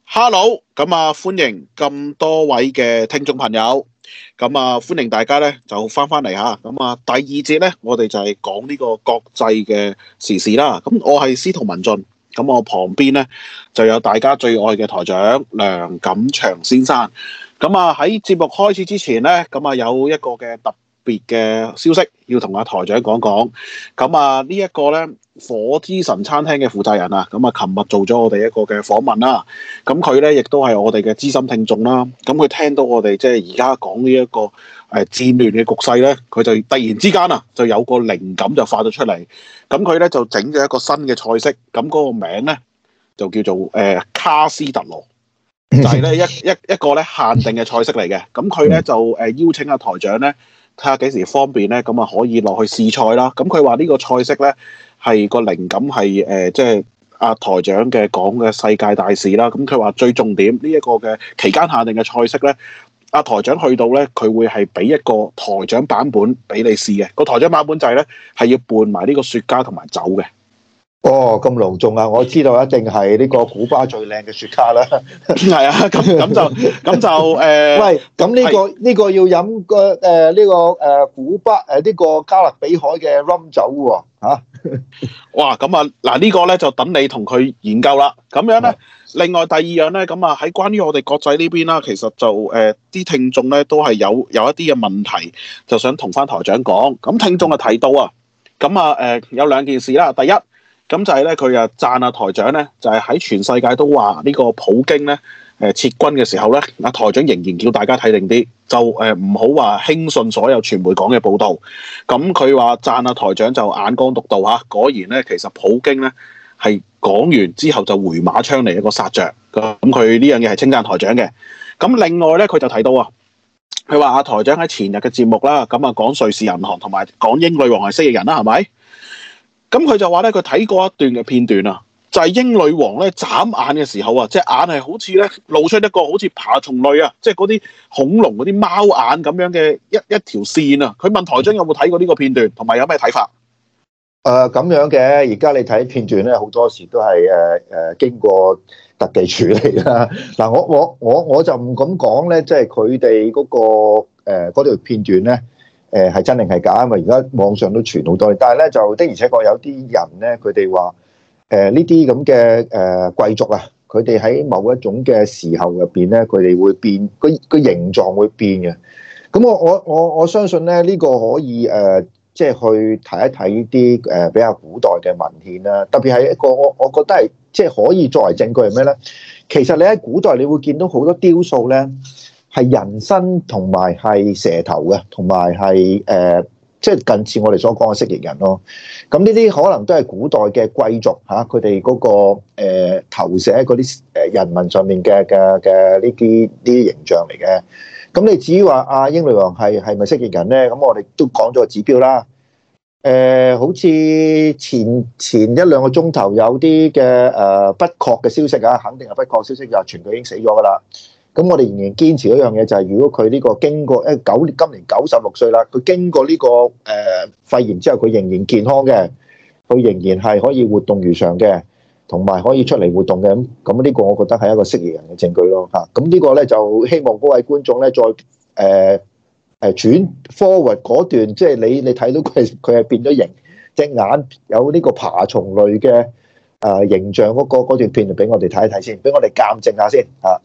Hello，咁歡迎咁多位嘅聽眾朋友，歡迎大家咧就翻嚟吓，第二節咧我哋就係講呢個國際嘅時事啦。咁我係司徒文進，咁我旁邊咧就有大家最愛嘅台長梁錦祥先生。喺節目開始之前咧，有一個嘅特別嘅消息要同阿台長講講。呢一個咧火之神餐廳嘅負責人啊，琴日做咗我哋一個嘅訪問啦。咁佢咧亦都係我哋嘅資深聽眾啦。咁佢聽到我哋即係而家講呢一個戰亂嘅局勢咧，佢就突然之間啊就有個靈感就發咗出嚟。咁佢咧就整咗一個新嘅菜式，咁嗰個名咧就叫做卡斯特羅。就係咧一個咧限定嘅菜式嚟嘅。咁佢咧就邀請阿台長咧睇下幾時方便咧，咁可以落去試菜啦。咁佢話呢個菜式咧係個靈感係即係阿台長嘅講嘅世界大事啦。咁佢話最重點呢一個嘅期間限定嘅菜式咧，阿台長去到咧佢會係俾一個台長版本俾你試嘅。個台長版本就係咧係要拌埋呢個雪茄同埋酒嘅。 哦，咁隆重啊！我知道一定係呢個古巴最靚嘅雪茄啦。 係啊，咁就喂，咁呢個要飲古巴呢個加勒比海嘅 rum 酒喎，嚇！ 哇，嗱呢個咧就等你同佢研究啦。咁樣咧，另外第二樣咧，喺關於我哋國際呢邊啦，其實就啲聽眾咧都係有一啲嘅問題，就想同翻台長講。咁聽眾就提到啊，有兩件事啦。第一，咁就係咧，佢讚阿台長咧，就係喺全世界都話呢個普京咧撤軍嘅時候咧，阿台長仍然叫大家睇定啲，就唔好話輕信所有傳媒講嘅報導。咁佢話讚阿台長就眼光獨到嚇，果然咧其實普京咧係講完之後就回馬槍嚟一個殺着。咁佢呢樣嘢係稱讚台長嘅。咁另外咧佢就提到啊，佢話阿台長喺前日嘅節目啦，講瑞士銀行同埋講英女王係蜥蜴人啦，係咪？咁佢就話咧，佢睇過一段嘅片段啊，就係英女王咧眨眼嘅時候啊，隻眼係好似咧露出一個好似爬蟲類啊，即係嗰啲恐龍嗰啲貓眼咁樣嘅一條線啊。佢問台長有冇睇過呢個片段，同埋有咩睇法？ 咁樣嘅，而家你睇片段咧，好多時都係經過特技處理啦。嗱，我就唔敢講咧，即係佢哋嗰個嗰條片段咧。係真定係假？因為而家網上都傳好多，但係咧就的而且確有啲人咧，佢哋話呢啲咁嘅貴族啊，佢哋喺某一種嘅時候入邊咧，佢哋會變個形狀會變嘅。咁我相信咧呢個可以即係去睇一睇啲比較古代嘅文獻啦，特別係一個我覺得係即係可以作為證據係咩咧？其實你喺古代你會見到好多雕塑咧。係人身同埋係蛇頭嘅，同埋係即係近似我哋所講嘅蜥蜴人咯。咁呢啲可能都係古代嘅貴族嚇，佢哋嗰個投射喺嗰啲人文上面嘅呢啲形象嚟嘅。咁你至於話阿英女王係咪蜥蜴人咧？咁我哋都講咗個指標啦。好似前一兩個鐘頭有啲嘅不確嘅消息啊，肯定係不確消息，就傳佢已經死咗噶啦。咁我哋仍然堅持一樣嘢，就係如果佢呢個經過今年96歲啦，佢經過呢個肺炎之後，佢仍然健康嘅，佢仍然係可以活動如常嘅，同埋可以出嚟活動嘅。咁呢個我覺得係一個蜥蜴人嘅證據咯嚇。咁呢個咧就希望嗰位觀眾咧再轉 forward 嗰段，即係你睇到佢係變咗形，隻眼有呢個爬蟲類嘅形象嗰段片，就俾我哋睇一睇先，俾我哋鑑證下先嚇。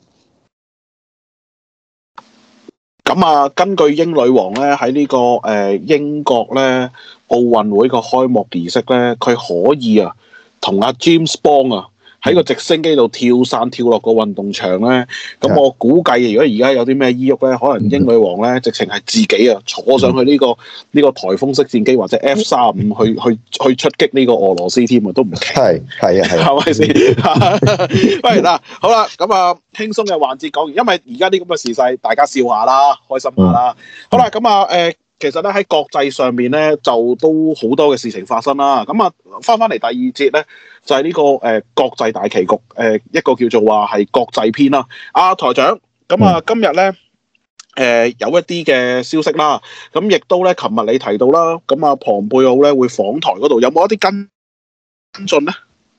根據英女王咧喺呢個英國咧奧運會個開幕儀式咧，佢可以啊同阿 James Bond 啊喺個直升機度跳傘跳落個運動場咧。咁我估計如果而家有啲咩依郁咧，可能英女王咧直情係自己啊坐上去呢個颱風式戰機或者 F-35去出擊呢個俄羅斯添啊，都唔奇。係咪先？喂嗱，好啦，輕鬆嘅環節講完，因為而家啲咁嘅時勢，大家笑下啦，開心下啦。好啦，其實咧喺國際上面咧，就都好多嘅事情發生啦。翻嚟第二節咧，就係呢個國際大棋局一個叫做話係國際篇啦。台長，今日咧有一啲嘅消息啦，咁亦都咧，琴日你提到啦，龐貝奧咧會訪台嗰度，有冇一啲跟進咧？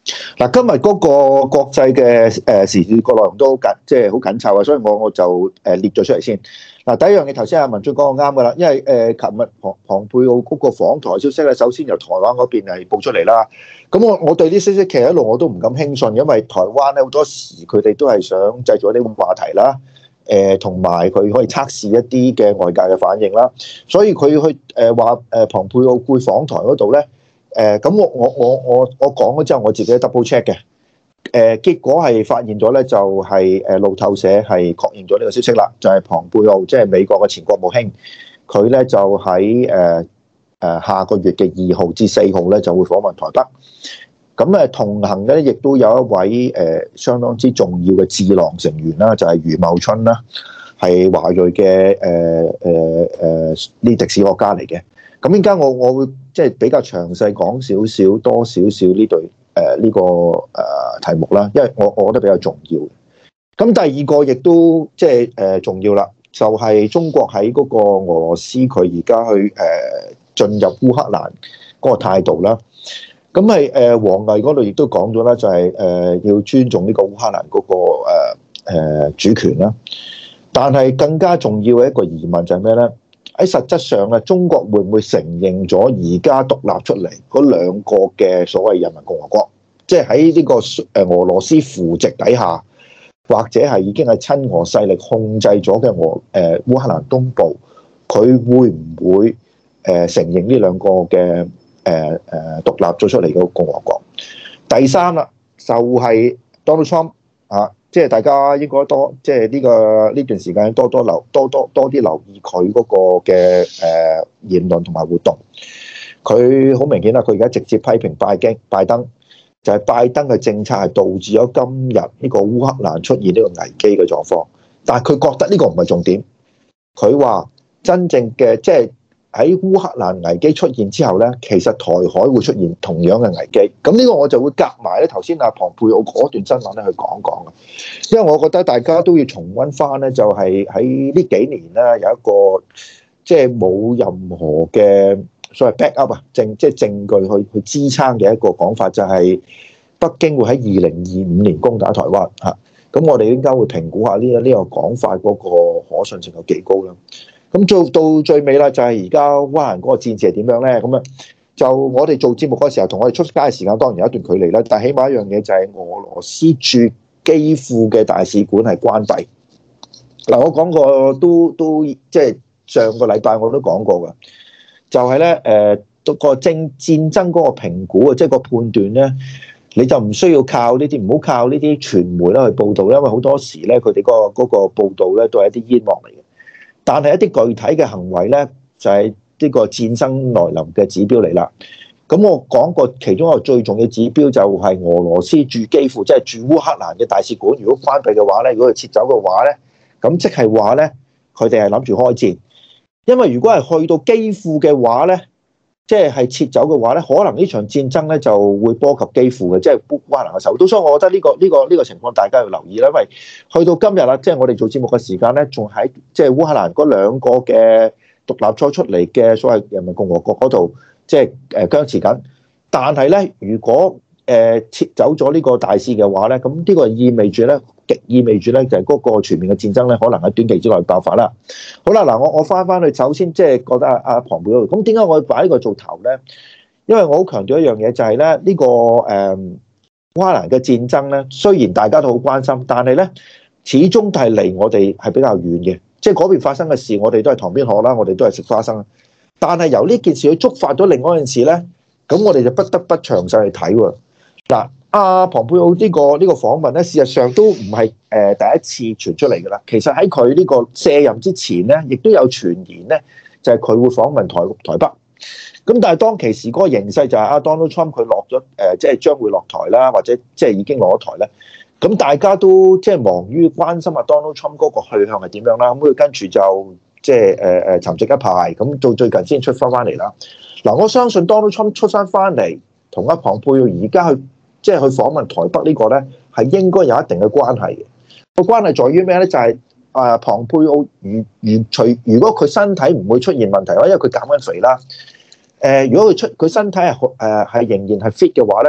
嗱，今日嗰個國際嘅時事個內容都好緊，即係好緊湊啊，所以我就列咗出嚟先。嗱，第一樣嘢頭先阿文進講嘅啱噶啦，因為琴日龐佩奧嗰個訪台消息咧，首先由台灣嗰邊係報出嚟啦。咁我對啲消息其實一路我都唔敢輕信，因為台灣咧好多時佢哋都係想製造一啲話題啦，同埋佢可以測試一啲嘅外界嘅反應啦。所以佢去話龐佩奧會訪台嗰度咧。咁我講咗之後，我自己 double check 嘅，結果係發現咗咧，就係路透社係確認咗呢個消息啦，就係龐佩奧即係美國嘅前國務卿，佢咧就喺下個月嘅2號至4號咧就會訪問台北，咁同行嘅咧亦都有一位相當之重要嘅智囊成員啦，就係余茂春啦，係華裔嘅呢歷史學家嚟嘅。咁依家我會即係比較詳細講多少呢對呢個題目啦，因為我覺得比較重要。咁第二個亦都即係重要啦，就係中國喺嗰個俄羅斯佢而家去進入烏克蘭嗰個態度啦。咁係王毅嗰度亦都講咗啦，就係要尊重呢個烏克蘭嗰個主權啦。但係更加重要嘅一個疑問就係咩咧？喺實質上啊，中國會唔會承認咗而家獨立出嚟嗰兩個嘅所謂人民共和國？即係喺呢個俄羅斯扶植底下，或者係已經係親俄勢力控制咗嘅烏克蘭東部，佢會唔會承認呢兩個嘅獨立咗出嚟嘅共和國？第三啦，就係 Donald Trump 啊。即係大家應該即係呢段時間多啲留意佢嗰個嘅言論同埋活動。佢好明顯啦，佢而家直接批評拜登，就係拜登嘅政策係導致咗今日呢個烏克蘭出現呢個危機嘅狀況。但係佢覺得呢個唔係重點。佢話真正嘅即係喺烏克蘭危機出現之後咧，其實台海會出現同樣嘅危機。咁呢個我就會夾埋咧頭先阿龐佩奧嗰段新聞咧去講啊。因為我覺得大家都要重溫翻咧，就係喺呢幾年咧有一個即係冇任何嘅所謂 backup 啊，即係證據去支撐嘅一個講法，就係北京會喺2025年攻打台灣嚇。咁我哋應該會評估下呢個講法嗰個可信性有幾高啦。咁做到最尾啦，就係而家烏克蘭嗰個戰事係點樣咧？咁啊，就我哋做節目嗰時候，同我哋出街嘅時間當然有一段距離啦。但係起碼一樣嘢就係俄羅斯駐基輔嘅大使館係關閉。嗱，我講過都即係上個禮拜我都講過㗎，就係咧個戰爭嗰個評估啊，即係個判斷咧，你就唔需要靠呢啲，唔好靠呢啲傳媒啦去報導，因為好多時咧佢哋嗰個報導咧都係一啲煙幕嚟嘅。但係一啲具體嘅行為咧，就係呢個戰爭來臨嘅指標嚟啦。咁我講過其中一個最重要指標就係俄羅斯駐基輔，即係駐烏克蘭嘅大使館，如果關閉嘅話咧，如果佢撤走嘅話咧，咁即係話咧，佢哋係諗住開戰。因為如果係去到基輔嘅話咧，即係撤走嘅話咧，可能呢場戰爭咧就會波及基輔嘅，即係烏克蘭嘅首都。所以我覺得呢個情況大家要留意啦，因為去到今日啦，即係我哋做節目嘅時間咧，仲喺即係烏克蘭嗰兩個嘅獨立咗出嚟嘅所謂人民共和國嗰度，即係僵持緊。但係咧，如果撤走咗呢個大使嘅話咧，咁呢個意味住咧，極意味住咧，就係嗰個全面嘅戰爭咧，可能喺短期之內爆發啦。好啦，嗱，我翻去，首先即係覺得阿龐佩奧，咁點解我要擺呢個做頭咧？因為我好強調一樣嘢，就係咧呢個烏克蘭嘅戰爭咧，雖然大家都好關心，但係咧始終都係離我哋係比較遠嘅，即係嗰邊發生嘅事，我哋都係塘邊鶴啦，我哋都係食花生。但係由呢件事去觸發咗另外一件事咧，咁我哋就不得不詳細去睇喎。嗱，阿龐佩奧呢個訪問咧，事實上都唔係第一次傳出嚟㗎啦。其實喺佢呢個卸任之前咧，亦都有傳言咧，就係佢會訪問台北。咁但係當其時嗰個形勢就係阿 Donald Trump 佢落咗即係將會落台啦，或者即係已經落咗台咧。咁大家都即係忙於關心阿 Donald Trump 嗰個去向係點樣啦。咁佢跟住就即係沉寂一排，咁到最近先出翻嚟啦。嗱，我相信 Donald Trump 出翻翻嚟，同阿龐佩奧而家去即係去訪問台北呢個咧，係應該有一定嘅關係嘅。個關係在於咩咧？就係龐佩奧如果佢身體唔會出現問題，因為佢減緊肥啦。如果佢身體係仍然係 fit 嘅話咧，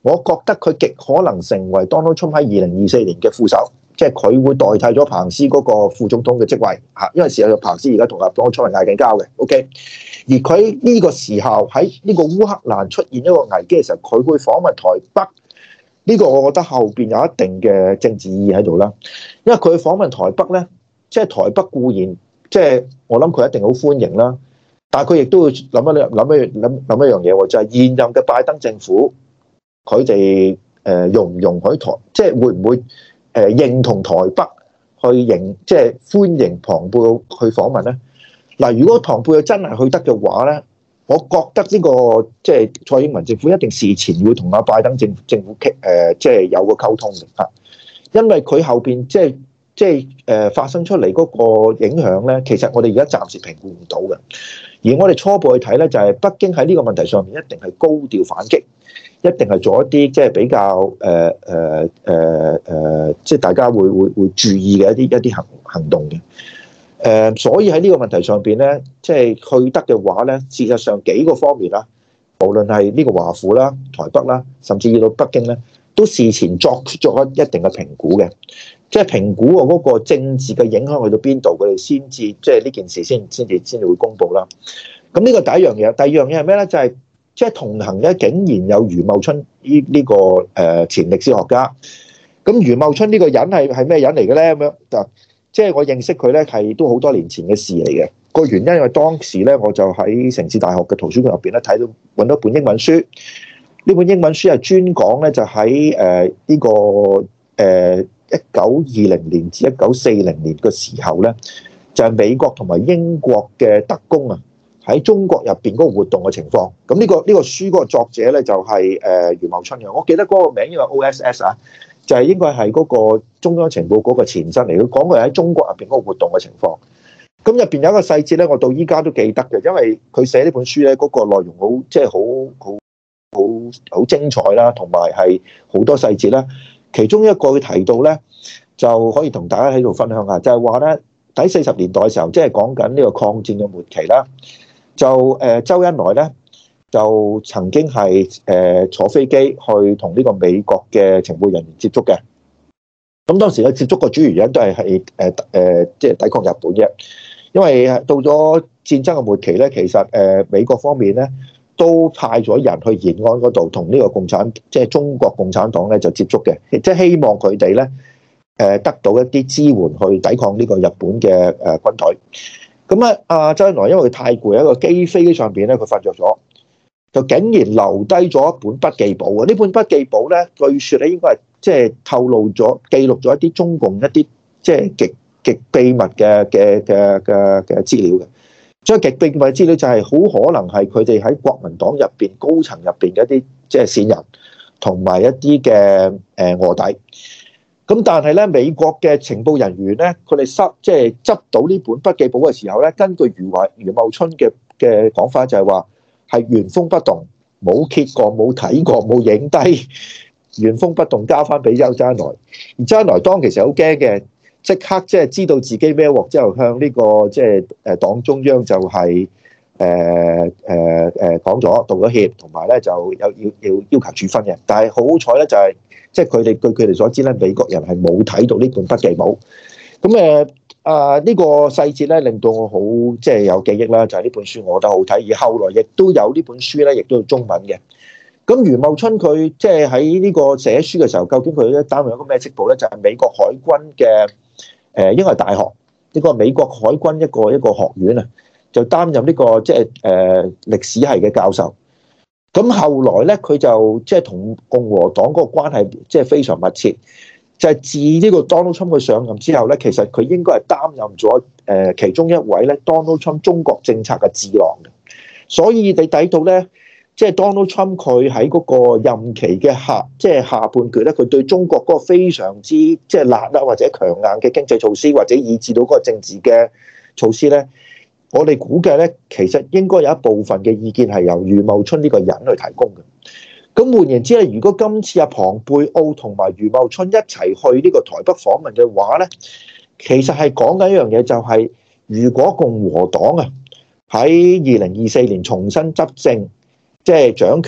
我覺得佢極可能成為 Donald Trump 喺2024年嘅副手，即係佢會代替咗彭斯嗰個副總統嘅職位嚇，因為事實上彭斯而家同阿 Donald Trump 係嗌緊交嘅，OK。而佢呢個時候喺呢個烏克蘭出現一個危機嘅時候，佢會訪問台北，呢個我覺得後邊有一定嘅政治意義喺度啦。因為佢訪問台北咧，即係台北固然即係我諗佢一定好歡迎啦，但係佢亦都會諗一樣嘢喎，就係現任嘅拜登政府佢哋容唔容許即係會唔會認同台北去即係歡迎龐貝奧去訪問咧？嗱，如果龐貝奧真係去得嘅話咧，我覺得呢個即係蔡英文政府一定事前會同阿拜登政府即係有個溝通嘅嚇，因為佢後邊即係發生出嚟嗰個影響咧，其實我哋而家暫時評估唔到嘅。而我哋初步去睇咧，就係北京喺呢個問題上面一定係高調反擊，一定係做一啲即係比較即係大家會注意嘅一啲行動嘅。所以喺呢個問題上邊咧，即係去得嘅話咧，事實上幾個方面啦，無論係呢個華府啦、台北啦，甚至到北京咧，都事前作出咗一定嘅評估嘅，即係評估嗰個政治嘅影響去到邊度，佢哋先至即係呢件事先至會公佈啦。咁呢個第一樣嘢，第二樣嘢係咩咧？就係即係同行嘅竟然有余茂春呢個前歷史學家。咁余茂春呢個人係咩人嚟嘅咧？咁樣就即係我認識佢咧，係都好多年前嘅事嚟嘅。個原因因為當時咧，我就喺城市大學嘅圖書館入邊咧揾到本英文書。呢本英文書係專講咧，就喺呢個1920年至1940年嘅時候咧，就係美國同埋英國嘅特工啊，喺中國入邊嗰個活動嘅情況。咁呢個書嗰個作者咧就係余茂春嘅。我記得嗰個名應該係 OSS 啊，就係應該係嗰個中央情報嗰個前身嚟。佢講佢喺中國入邊嗰個活動嘅情況。咁入邊有一個細節咧，我到依家都記得嘅，因為佢寫呢本書咧，嗰個內容好即係好精彩啦，同埋係好多細節啦。其中一個佢提到咧，就可以同大家喺度分享下，就係話咧，喺40年代嘅時候，即係講緊呢個抗戰嘅末期啦。就周恩來咧，就曾經係坐飛機去同呢個美國嘅情報人員接觸嘅。咁當時嘅接觸個主要原因都係即係抵抗日本啫。因為到咗戰爭嘅末期咧，其實美國方面咧都派咗人去延安嗰度同呢個即係中國共產黨咧就接觸嘅，即係希望佢哋咧得到一啲支援去抵抗呢個日本嘅軍隊。咁啊，阿周恩來因為佢太攰，喺個機上邊咧佢瞓着咗，就竟然留低咗一本筆記簿啊！呢本筆記簿咧，據說咧應該係即係透露咗記錄咗一啲中共一啲即係極秘密嘅資料嘅。所以極秘密資料就係好可能係佢哋喺國民黨入邊高層入邊嘅一啲即係線人，同埋一啲嘅臥底。咁但係咧，美國嘅情報人員咧，佢哋即係執到呢本筆記簿嘅時候咧，根據余茂春嘅講法就係話係原封不動，冇揭過、冇睇過、冇影低，原封不動交翻俾周恩來。而周恩來當其時好驚嘅。即刻即係知道自己孭鑊之後，向呢個即係黨中央就係講咗道咗歉，同埋咧就要求處分嘅。但係好彩咧，就係即係佢哋據佢哋所知咧，美國人係冇睇到呢本筆記簿。咁呢個細節咧令到我好即係有記憶啦，就係呢本書我覺得好睇，而後來亦都有呢本書咧，亦都有中文嘅。咁余茂春佢即係喺呢個寫書嘅時候，究竟佢咧擔任一個咩職務咧？就係美國海軍嘅。應該係大學，呢個美國海軍一個學院啊，就擔任呢個即係歷史系嘅教授。咁後來咧，佢就即係同共和黨嗰個關係即係非常密切。就係自呢個 Donald Trump 佢上任之後咧，其實佢應該係擔任咗其中一位咧 Donald Trump 中國政策嘅智囊嘅。所以你睇到咧。即係 Donald Trump 佢喺嗰個任期嘅下半段咧，佢對中國嗰個非常之即係辣啦，或者強硬嘅經濟措施，或者以至到嗰個政治嘅措施咧，我哋估計咧，其實應該有一部分嘅意見係由余茂春呢個人去提供嘅。咁換言之咧，如果今次阿龐貝奧同埋余茂春一齊去呢個台北訪問嘅話咧，其實係講緊一樣嘢，就係如果共和黨啊喺2024年重新執政。即係掌權，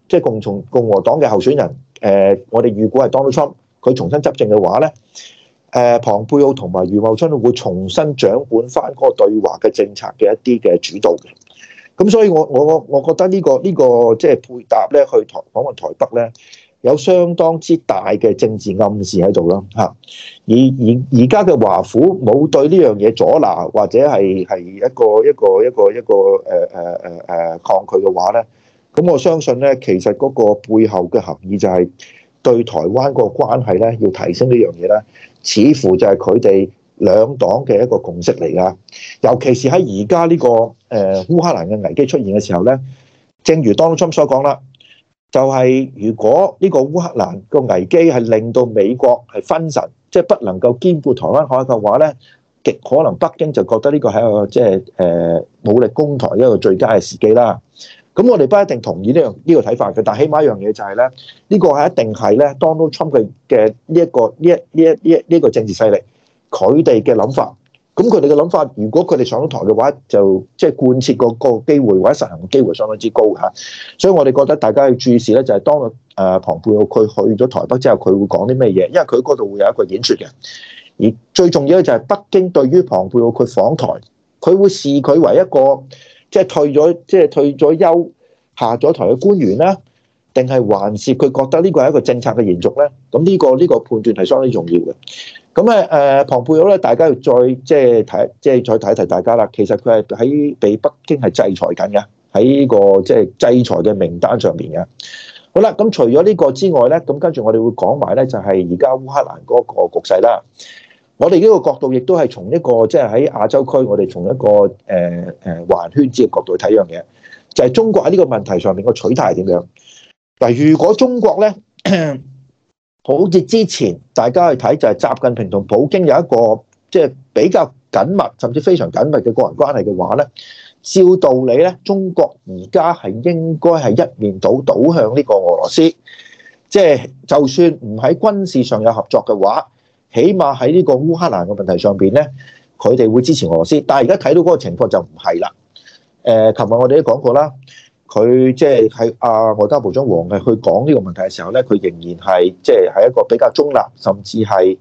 即係共和黨嘅候選人，我哋預估係 Donald Trump，佢重新執政嘅話咧，龐佩奧同埋余茂春會重新掌管翻嗰個對華嘅政策嘅一啲嘅主導嘅。咁所以我覺得呢個即係配搭咧，去訪問台北咧，有相當之大嘅政治暗示喺度啦嚇。而家嘅華府冇對呢樣嘢阻撓，或者係一個抗拒嘅話咧，咁我相信咧，其實嗰個背後嘅含義就係對台灣個關係咧要提升呢樣嘢咧，似乎就係佢哋兩黨嘅一個共識嚟㗎。尤其是喺而家呢個烏克蘭嘅危機出現嘅時候咧，正如 Donald Trump 所講啦，就係如果呢個烏克蘭個危機係令到美國係分神，即係不能夠兼顧台灣海峽嘅話咧，極可能北京就覺得呢個係一個即係武力攻台一個最佳嘅時機啦。咁我哋不一定同意呢個睇法嘅，但係起碼一樣嘢就係咧，呢個係一定係咧 Donald Trump 嘅呢一個政治勢力佢哋嘅諗法。咁佢哋嘅諗法，如果佢哋上到台嘅話，就即係貫徹個機會或者實行嘅機會相當之高嚇。所以我哋覺得大家要注視咧，就係當龐佩奧佢去咗台北之後，佢會講啲咩嘢？因為佢嗰度會有一個演說嘅。而最重要咧就係北京對於龐佩奧佢訪台，佢會視佢為一個即係退咗休下咗台嘅官員啦，定係還是佢覺得呢個係一個政策嘅延續咧？咁呢個判斷係相當重要嘅。咁龐佩奧咧，大家要再再睇一睇大家啦。其實佢係喺被北京係制裁緊嘅，喺個即係制裁嘅名單上邊嘅。好啦，咁除咗呢個之外咧，咁跟住我哋會講埋咧，就係而家烏克蘭嗰個局勢啦。我哋呢個角度亦都係從一個即係喺亞洲區，我哋從一個環圈子嘅角度去睇一樣嘢，就係中國喺呢個問題上面個取態係點樣？嗱，如果中國咧，好似之前大家去睇就係習近平同普京有一個即係比較緊密甚至非常緊密嘅個人關係嘅話咧，照道理咧，中國而家係應該係一面倒向呢個俄羅斯，即係就算唔喺軍事上有合作嘅話，起碼喺呢個烏克蘭嘅問題上邊咧，佢哋會支持俄羅斯。但係而家睇到嗰個情況就唔係啦。琴日我哋都講過啦。佢即係喺外交部長王毅去講呢個問題嘅時候咧，佢仍然係即係係一個比較中立，甚至係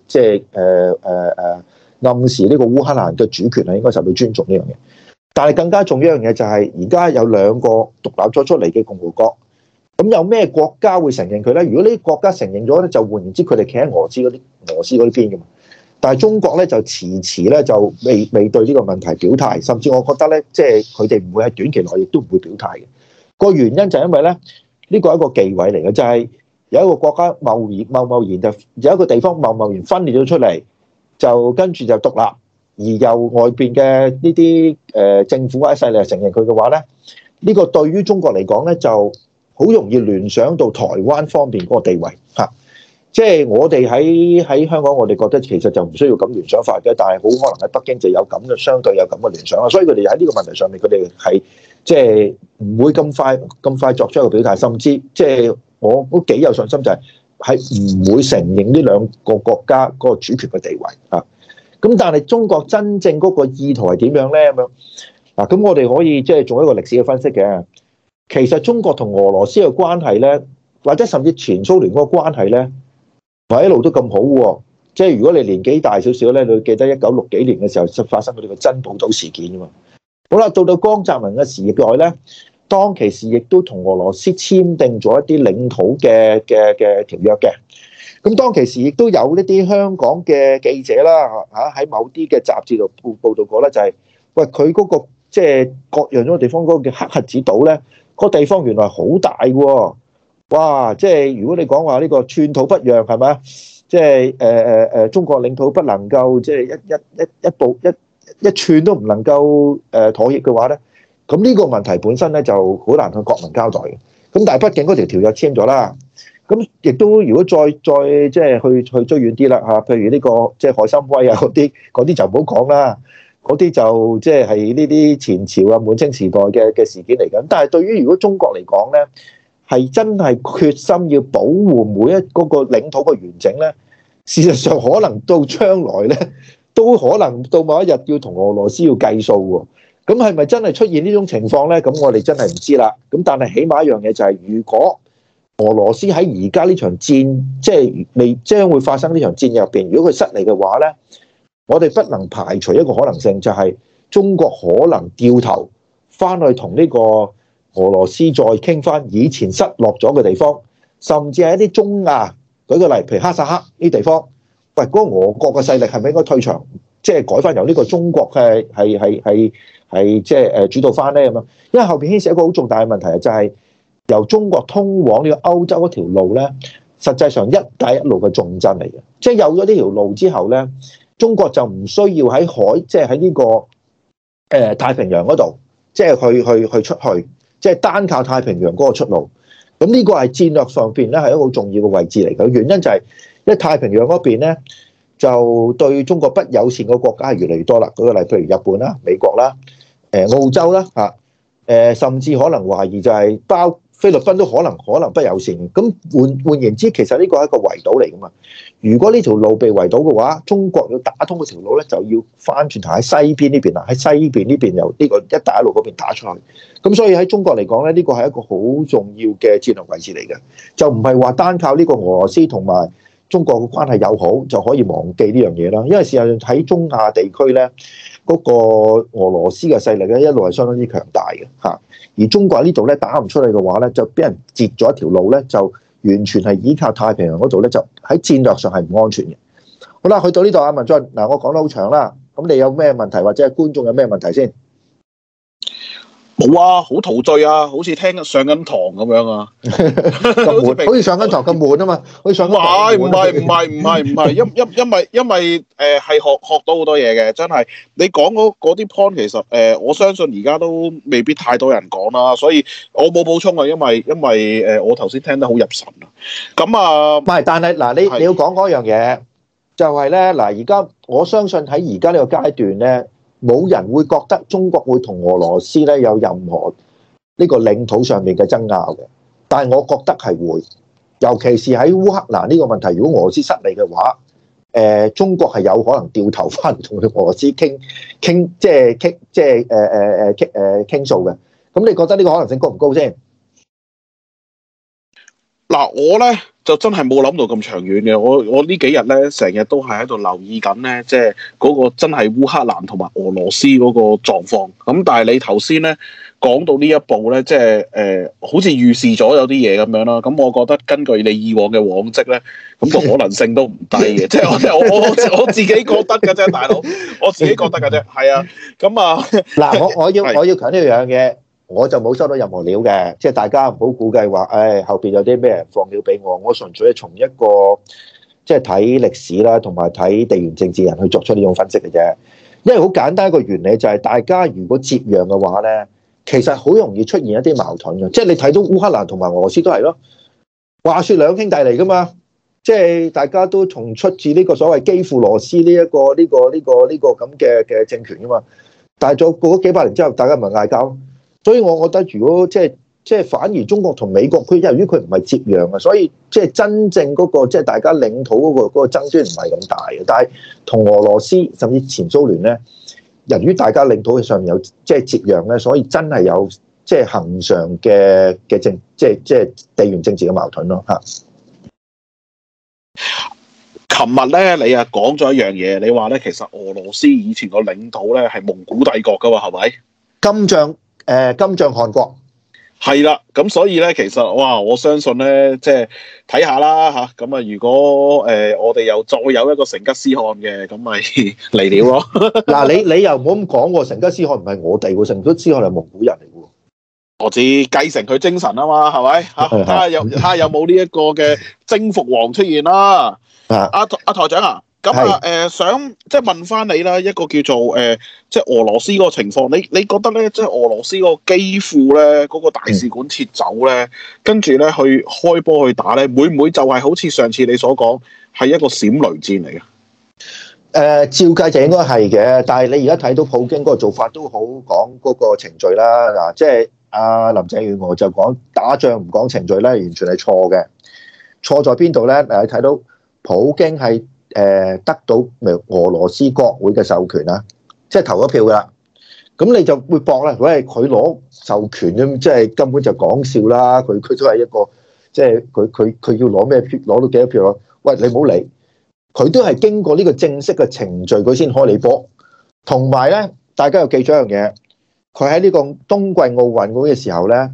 暗示呢個烏克蘭嘅主權係應該受到尊重呢樣嘢。但係更加重要一樣嘢就係而家有兩個獨立咗出嚟嘅共和國，咁有咩國家會承認佢咧？如果呢啲國家承認咗咧，就換言之佢哋企喺俄羅斯嗰啲邊嘅嘛。但係中國咧就遲咧就未對呢個問題表態，甚至我覺得咧，即係佢哋唔會喺短期內亦都唔會表態嘅。個原因就係因為咧，呢個係一個忌諱嚟嘅，就係有一個國家貿然就有一個地方貿然分裂咗出嚟，就跟住就獨立，而由外邊嘅呢啲政府或者勢力承認佢嘅話咧，呢個對於中國嚟講咧就好容易聯想到台灣方面嗰個地位嚇。即係我哋喺香港，我哋覺得其實就唔需要咁聯想法嘅，但係好可能喺北京就有咁嘅相對有咁嘅聯想啦。所以佢哋喺呢個問題上面，佢哋係即係唔會咁快作出一個表態，甚至即係我都幾有信心，就係唔會承認呢兩個國家嗰個主權嘅地位啊。咁但係中國真正嗰個意圖係點樣咧？咁樣嗱，咁我哋可以即係做一個歷史嘅分析嘅。其實中國同俄羅斯嘅關係咧，或者甚至前蘇聯嗰個關係咧，唔係一路都咁好喎。即係如果你年紀大少少咧，你會記得1960幾年嘅時候發生過呢個珍寶島事件啊嘛。好啦，到江澤民嘅時代咧，當其時亦都同俄羅斯簽訂咗一啲領土嘅條約嘅。咁當其時亦都有呢啲香港嘅記者啦嚇喺某啲嘅雜誌度報導過咧，就係喂佢嗰個即係割讓咗個地方嗰個叫黑核子島咧，個地方原來好大喎。哇！即係如果你講話呢個寸土不讓係咪？即係中國領土不能夠即係一寸都唔能夠妥協嘅話咧，咁呢個問題本身咧就好難向國民交代嘅。咁但係畢竟嗰條約簽咗啦，咁亦都如果再即係去追遠啲啦嚇，譬如呢個即係海參崴啊嗰啲就唔好講啦，嗰啲就即係呢啲前朝啊滿清時代嘅事件嚟嘅。但係對於如果中國嚟講咧，係真係決心要保護每一嗰個領土嘅完整咧，事實上可能到將來咧，都可能到某一日要同俄羅斯要計數喎。 咁係咪真係出現呢種情況咧？咁我哋真係唔知啦。咁但係起碼一樣嘢就係，如果俄羅斯喺而家呢場戰，即係未將會發生呢場戰入邊，如果佢失利嘅話咧，我哋不能排除一個可能性，就係中國可能掉頭翻去同呢個俄羅斯再傾翻以前失落咗嘅地方，甚至係一啲中亞，舉個例，譬如哈薩克呢地方，喂，嗰個俄國嘅勢力係咪應該退場，即係改翻由呢個中國係即係主導翻咧咁樣？因為後邊牽涉一個好重大嘅問題，就係由中國通往呢個歐洲嗰條路咧，實際上一帶一路嘅重鎮嚟嘅，即係有咗呢條路之後咧，中國就唔需要喺海，即係喺呢個太平洋嗰度，即係去出去，即係單靠太平洋嗰個出路。咁呢個係戰略上邊咧係一個好重要嘅位置嚟嘅。原因就係因為太平洋嗰邊咧就對中國不友善嘅國家係越嚟越多啦。舉個例，譬如日本啦、美國啦、澳洲啦嚇，甚至可能懷疑就係包菲律賓都可能不友善。咁換言之，其實呢個係一個圍堵嚟噶嘛。如果呢條路被圍堵嘅話，中國要打通嗰條路咧，就要翻轉頭喺西邊呢邊啦，喺西邊呢邊由呢個一帶一路嗰邊打出去。咁所以喺中國嚟講咧，呢個係一個好重要嘅戰略位置嚟嘅，就唔係話單靠呢個俄羅斯同埋中國嘅關係友好就可以忘記呢樣嘢啦。因為事實上喺中亞地區咧，嗰個俄羅斯嘅勢力咧一路係相當之強大嘅嚇，而中國喺呢度咧打唔出嚟嘅話咧，就俾人截咗一條路咧，就完全係依靠太平洋嗰度咧，就喺戰略上係唔安全嘅。好啦，去到呢度啊，文進，嗱，我講得好長啦，咁你有咩問題或者係觀眾有咩問題先？ 冇啊，好陶醉啊，好似聽上緊堂咁樣啊， 咁悶，好似上緊堂咁悶啊嘛，好似上緊堂唔係，因為係學到好多嘢嘅，真係你講嗰啲 point 其實我相信而家都未必太多人講啦，所以我冇補充啊，因為我頭先聽得好入神啊，咁啊， 唔係，但係嗱，你要講嗰樣嘢，就係咧嗱，而家我相信喺而家呢個階段咧。冇人會覺得中國會同俄羅斯咧有任何呢個領土上面嘅爭拗嘅，但係我覺得係會，尤其是喺烏克蘭呢個問題，如果俄羅斯失利嘅話，中國係有可能掉頭翻同俄羅斯傾訴嘅。咁你覺得呢個可能性高唔高先？ 嗱，我咧就真係冇諗到咁長遠嘅，我呢幾日咧成日都係喺度留意緊咧，即係嗰個真係烏克蘭同埋俄羅斯嗰個狀況。咁但係你頭先咧講到呢一步咧，即係好似預示咗有啲嘢咁樣啦。咁我覺得根據你以往嘅往績咧，咁個可能性都唔低嘅。即係我自己覺得嘅啫，大佬，我自己覺得嘅啫。係啊，咁啊， 嗱，我要強調一樣嘢。我就冇收到任何料嘅，即係大家唔好估計話，後邊有啲咩人放料俾我。我純粹係從一個即係睇歷史啦，同埋睇地緣政治人去作出呢種分析嘅啫。因為好簡單一個原理就係，大家如果接壤嘅話咧，其實好容易出現一啲矛盾嘅。即係你睇到烏克蘭同埋俄羅斯都係咯，話說兩兄弟嚟噶嘛，即係大家都從出自呢個所謂基輔羅斯呢一個咁嘅政權噶嘛。但係再過咗幾百年之後，大家唔係嗌交。所以我覺得，如果即係反而中國同美國，佢由於佢唔係接壤啊，所以即係真正嗰個即係大家領土嗰個爭端唔係咁大嘅。但係同俄羅斯甚至前蘇聯咧，由於大家領土上面有即係接壤咧，所以真係有即係恆常嘅即係地緣政治嘅矛盾咯嚇。 琴日咧，你啊講咗一樣嘢，你話咧其實俄羅斯以前個領土咧係蒙古帝國噶嘛，係咪？ 金帳汗國係啦，咁所以咧，其實哇，我相信咧，即係睇下啦嚇。咁啊，如果我哋又再有一個成吉思汗嘅，咁咪嚟料咯。 嗱，你又唔好咁講喎，成吉思汗唔係我哋喎，成吉思汗係蒙古人嚟嘅喎。 我知繼承佢精神啊嘛，係咪嚇？睇下有冇呢一個嘅征服王出現啦。阿台長啊！咁啊，想即係問翻你啦，一個叫做即係俄羅斯嗰個情況，你覺得咧，即係俄羅斯嗰個基輔咧，嗰個大使館撤走咧，跟住咧去開波去打咧，會唔會就係好似上次你所講，係一個閃雷戰嚟嘅？ 照計就應該係嘅，但係你而家睇到普京嗰個做法都好講嗰個程序啦。嗱，即係阿林鄭月娥就講打仗唔講程序咧，完全係錯嘅。錯在邊度咧？你睇到普京係得到俄羅斯國會嘅授權啦，即係投咗票噶啦。 咁你就會搏啦。喂，佢攞授權咁，即係根本就講笑啦。佢都係一個，即係佢要攞咩票，攞到幾多票咯？喂，你唔好理，佢都係經過呢個正式嘅程序，佢先開你波。同埋咧，大家要記住一樣嘢，佢喺呢個冬季奧運會嘅時候咧，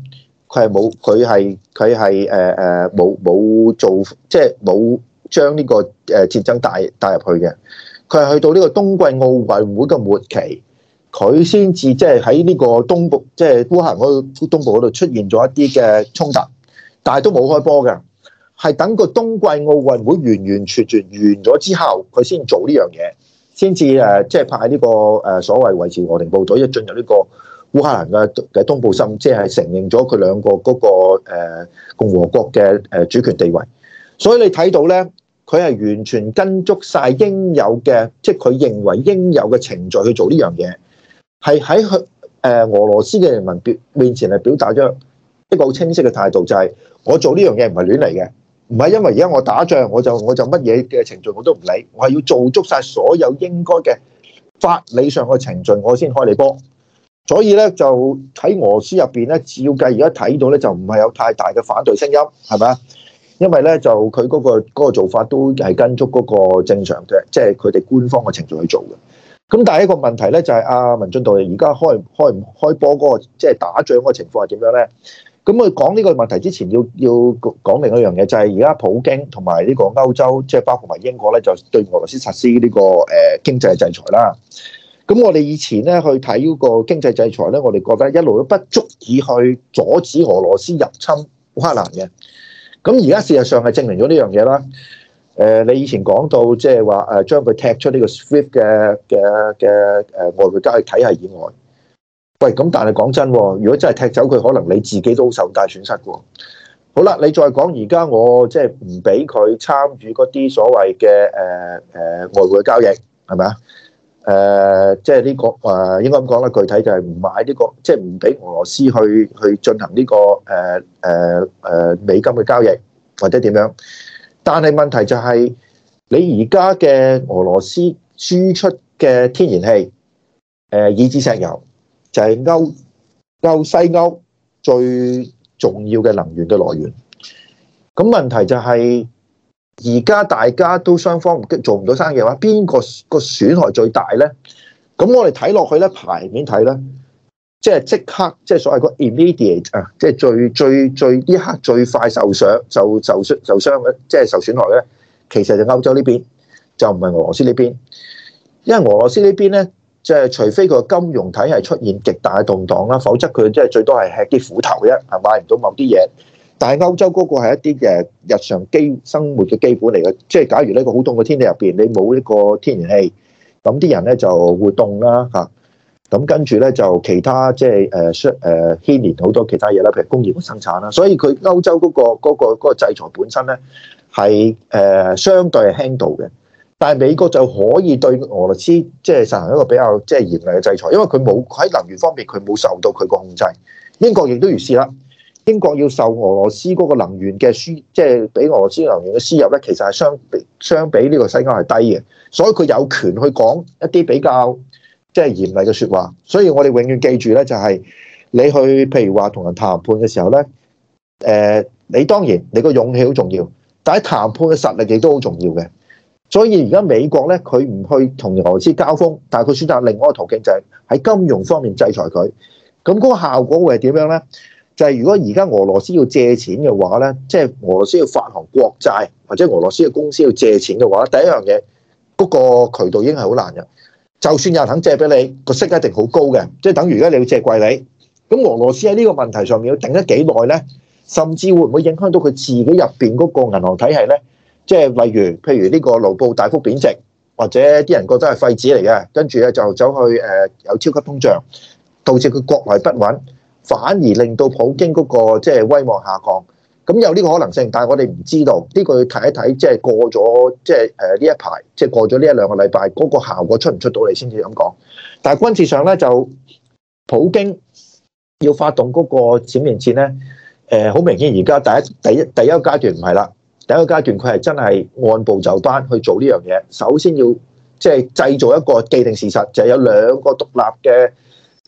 佢係冇做，即係冇將呢個戰爭帶入去嘅。佢係去到呢個冬季奧運會嘅末期，佢先至即係喺呢個東部，即係烏克蘭嗰個東部嗰度出現咗一啲嘅衝突，但係都冇開波嘅。係等個冬季奧運會完全完咗之後，佢先做呢樣嘢，先至即係派呢個所謂維持和平部隊一進入呢個烏克蘭嘅東部心，即係承認咗佢兩個嗰個共和國嘅主權地位。所以你睇到咧，佢係完全跟足晒應有嘅，即係佢認為應有嘅程序去做呢樣嘢，係喺佢俄羅斯嘅人民面前係表達咗一個好清晰嘅態度，就係我做呢樣嘢唔係亂嚟嘅。唔係因為而家我打仗，我就乜嘢嘅程序我都唔理，我係要做足晒所有應該嘅法理上嘅程序，我先開你波。所以咧就喺俄羅斯入邊咧，照計而家睇到咧就唔係有太大嘅反對聲音，係咪啊？因為咧就佢嗰個做法都係跟足嗰個正常嘅，即係佢哋官方嘅程序去做嘅。咁但係一個問題咧就係阿文進導而家開唔開波嗰個即係打仗嗰個情況係點樣咧？咁我講呢個問題之前要講另一樣嘢，就係而家普京同埋呢個歐洲，即係包括埋英國咧，就對俄羅斯實施呢個經濟制裁啦。咁我哋以前咧去睇嗰個經濟制裁咧，我哋覺得一路都不足以去阻止俄羅斯入侵烏克蘭嘅。咁而家事實上係證明咗呢樣嘢啦。你以前講到即係話將佢踢出呢個 SWIFT 嘅外匯交易體系以外。喂，咁但係講真，如果真係踢走佢，可能你自己都受大損失嘅。好啦，你再講而家我即係唔俾佢參與嗰啲所謂嘅外匯交易，係咪啊？即係呢個應該咁講啦，具體就係唔買呢個，即係唔俾俄羅斯去進行呢個美金嘅交易或者點樣。但係問題就係你而家嘅俄羅斯輸出嘅天然氣，以至石油。就係西歐最重要嘅能源嘅來源。咁問題就係而家大家都雙方做唔到生意嘅話，邊個損害最大咧？咁我哋睇落去咧，牌面睇咧，即刻即係所謂個 immediate 啊，即係最呢刻最快受傷嘅，即係受損害咧，其實就歐洲呢邊，就唔係俄羅斯呢邊，因為俄羅斯呢邊咧。即係除非佢個金融體系出現極大嘅動盪啦，否則佢即係最多係吃啲苦頭啫，係買唔到某啲嘢。但係歐洲嗰個係一啲嘅日常生活嘅基本嚟嘅，即係假如呢個好凍嘅天氣入邊，你冇呢個天然氣，咁啲人咧就會凍啦嚇。咁跟住咧就其他即係牽連好多其他嘢啦，譬如工業嘅生產啦。所以佢歐洲嗰個制裁本身咧係相對係輕度嘅。但係美國就可以對俄羅斯即係實行一個比較即係嚴厲嘅制裁，因為佢冇喺能源方面佢冇受到佢個控制。英國亦都如是啦，英國要受俄羅斯嗰個能源嘅輸，即係俾俄羅斯能源嘅輸入咧，其實係相比呢個西歐係低嘅，所以佢有權去講一啲比較即係嚴厲嘅説話。所以我哋永遠記住咧，就係你去譬如話同人談判嘅時候咧，你當然你個勇氣好重要，但係談判嘅實力亦都好重要嘅。所以而家美國咧，佢唔去同俄羅斯交鋒，但係佢選擇另外一個途徑，就係喺金融方面制裁佢。咁嗰個效果會係點樣咧？就係如果而家俄羅斯要借錢嘅話咧，即係俄羅斯要發行國債，或者俄羅斯嘅公司要借錢嘅話，第一樣嘢嗰個渠道已經係好難嘅。就算有人肯借俾你，個息一定好高嘅，即係等於而家你要借貴利。咁俄羅斯喺呢個問題上面要頂得幾耐咧？甚至會唔會影響到佢自己入邊嗰個銀行體系咧？即係例如，譬如呢個盧布大幅貶值，或者啲人覺得係廢紙嚟嘅，跟住咧就走去有超級通脹，導致佢國內不穩，反而令到普京嗰個即係威望下降。咁有呢個可能性，但係我哋唔知道呢個要睇一睇，即係過咗即係呢一排，即係過咗呢一兩個禮拜，嗰個效果出唔出到嚟先至咁講。但係軍事上咧，就普京要發動嗰個閃電戰咧，好明顯而家第一個階段唔係啦。第一個階段佢係真係按部就班去做呢樣嘢。首先要即係製造一個既定事實，就係有兩個獨立嘅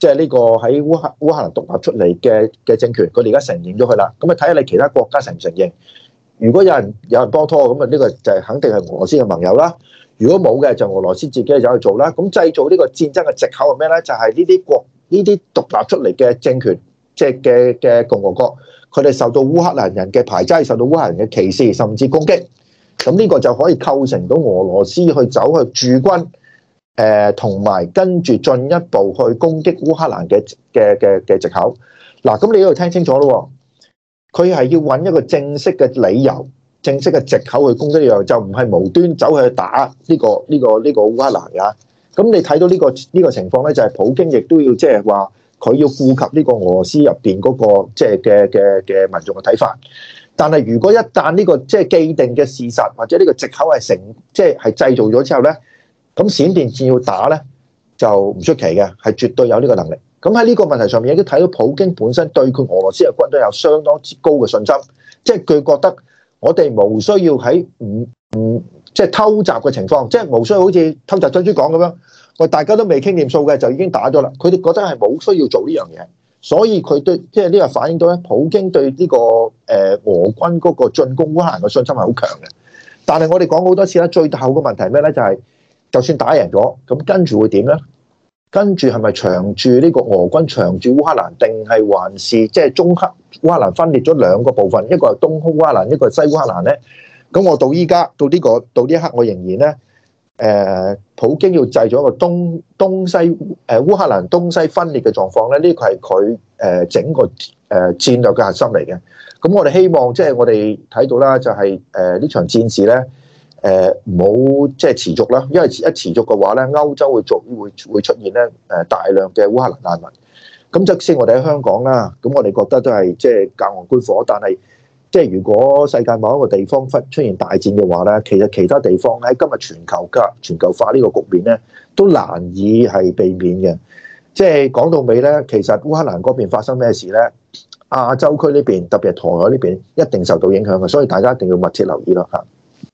即係呢個喺烏克蘭獨立出嚟嘅政權，佢哋而家承認咗佢啦。咁啊睇下你其他國家承唔承認？如果有人幫拖，咁啊呢個就係肯定係俄羅斯嘅盟友啦。如果冇嘅，就俄羅斯自己走去做啦。咁製造呢個戰爭嘅藉口係咩咧？就係呢啲獨立出嚟嘅政權，即係嘅共和國，佢哋受到烏克蘭人嘅排擠，受到烏克蘭人嘅歧視，甚至攻擊。咁呢個就可以構成到俄羅斯去走去駐軍，同埋跟住進一步去攻擊烏克蘭嘅藉口。嗱，咁你要聽清楚咯。佢係要揾一個正式嘅理由、正式嘅藉口去攻擊呢樣，就唔係無端走去打呢個烏克蘭㗎。咁你睇到呢個情況咧，就係普京亦都要即係話佢要顧及呢個俄羅斯入邊嗰個即係嘅民眾嘅睇法。但係如果一旦呢個即係既定嘅事實或者呢個藉口係即係製造咗之後咧，咁閃電戰要打咧就唔出奇嘅，係絕對有呢個能力。咁喺呢個問題上面，亦都睇到普京本身對佢俄羅斯嘅軍隊有相當之高嘅信心，即係佢覺得我哋無需要喺即係偷襲嘅情況，即係無需要好似偷襲珍珠港咁樣，喂大家都未傾掂數嘅就已經打咗啦。佢哋覺得係冇需要做呢樣嘢，所以佢對即係呢個反映到咧，普京對呢個俄軍嗰個進攻烏克蘭嘅信心係好強嘅。但係我哋講好多次啦，最後嘅問題係咩咧？就係就算打贏咗，咁跟住會點咧？跟住係咪長駐呢個俄軍長駐烏克蘭，定係還是即係中克烏克蘭分裂咗兩個部分，一個係東烏克蘭，一個係西烏克蘭咧？咁我到依家到呢一刻，我仍然咧，普京要製造一個東西烏克蘭東西分裂嘅狀況咧，呢個係佢整個戰略嘅核心嚟嘅。咁我哋希望即係我哋睇到啦，就係呢場戰事咧。唔好即係持續啦，因為一持續嘅話咧，歐洲會出現咧大量嘅烏克蘭難民。咁即使我哋喺香港啦，咁我哋覺得都係即係隔岸觀火。但係即係如果世界某一個地方出現大戰嘅話咧，其實其他地方喺今日全球化呢個局面咧，都難以係避免嘅。即係講到尾咧，其實烏克蘭嗰邊發生咩事咧，亞洲區呢邊特別係台海呢邊一定受到影響嘅，所以大家一定要密切留意咯嚇。